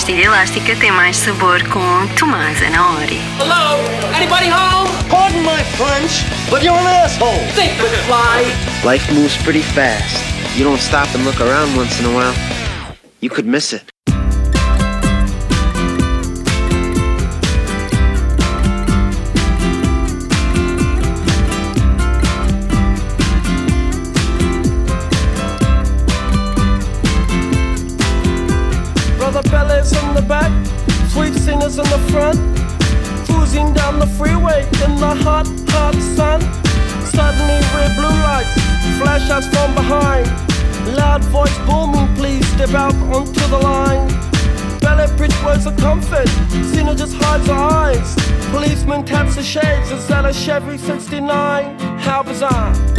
Pastilha elástica tem mais sabor com Tomás Anaori. Hello? Anybody home? Pardon my French, but you're an asshole. Think with fly. Life moves pretty fast. You don't stop and look around once in a while, you could miss it. Brother Bellas in the back, sweet singers in the front, cruising down the freeway in the hot, hot sun. Suddenly red blue lights flash us from behind. Loud voice booming, please step out onto the line. Ballet bridge words of comfort, Cena just hides her eyes. Policeman taps the shades, is that a Chevy 69? How bizarre.